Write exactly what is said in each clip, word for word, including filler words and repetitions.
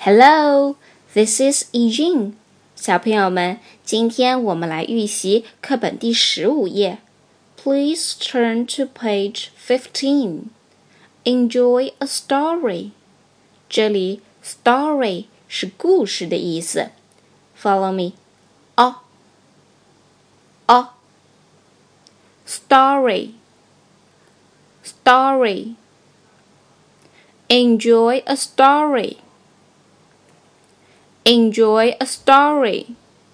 Hello, this is Eugene. 小朋友们，今天我们来预习课本第十五页。Please turn to page fifteen. Enjoy a story. 这里 story 是故事的意思。Follow me. 哦哦 Story Story Enjoy a story. Enjoy a story.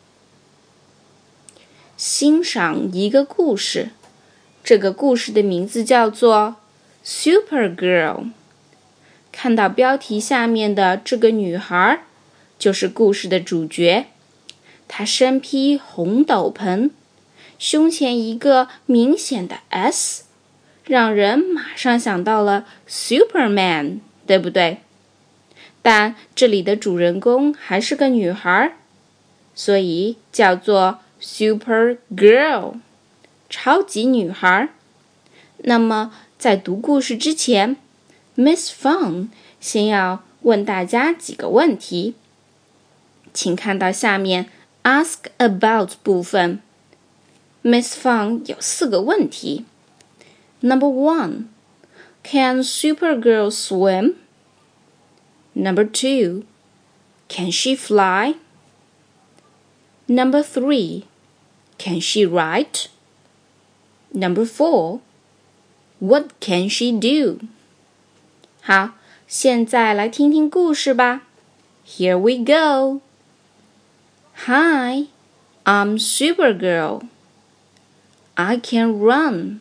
欣赏一个故事。这个故事的名字叫做 Supergirl。看到标题下面的这个女孩，就是故事的主角。她身披红斗篷，胸前一个明显的 S， 让人马上想到了 Superman， 对不对？但这里的主人公还是个女孩，所以叫做 Supergirl， 超级女孩。那么在读故事之前 Miss Fang 先要问大家几个问题，请看到下面 Ask About 部分。Miss Fang 有四个问题。Number one, Can Supergirl swim? Number two, Can she fly? Number three, Can she write? Number four, What can she do? 好，现在来听听故事吧。Here we go. Hi, I'm Supergirl. I can run.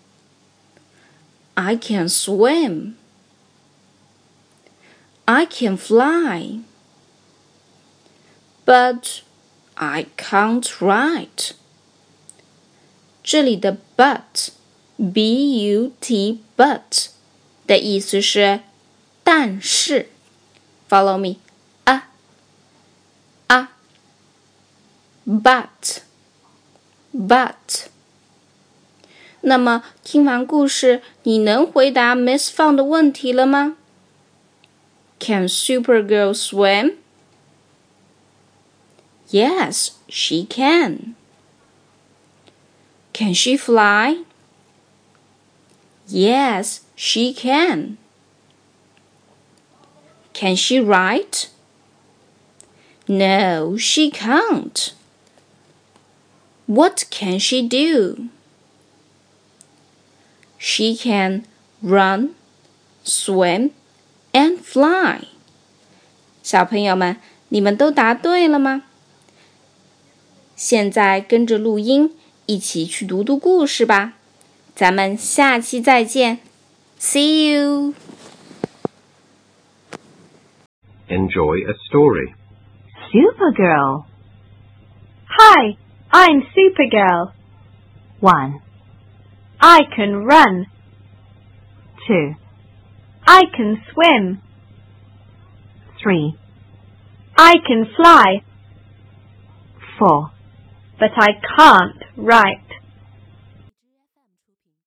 I can swim. I can fly. But I can't write. 这里的 but, B U T, but 的意思是但是。Follow me. 啊啊 But But 那么听完故事，你能回答 Miss Fang 的问题了吗？ Can Supergirl swim? Yes, she can. Can she fly? Yes, she can. Can she write? No, she can't. What can she do? She can run, swim, and fly. 小朋友们，你们都答对了吗？现在跟着录音，一起去读读故事吧。咱们下期再见。See you. Enjoy a story. Supergirl. Hi, I'm Supergirl. One, I can run. two, I can swim. three, I can fly. four, But I can't write.